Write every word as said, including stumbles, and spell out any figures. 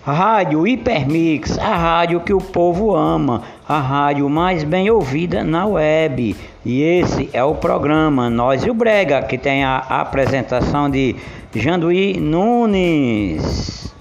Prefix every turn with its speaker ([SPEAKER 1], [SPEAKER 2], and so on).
[SPEAKER 1] Rádio Hipermix, a rádio que o povo ama, a rádio mais bem ouvida na web. E esse é o programa Nós e o Brega, que tem a apresentação de Janduí Nunes.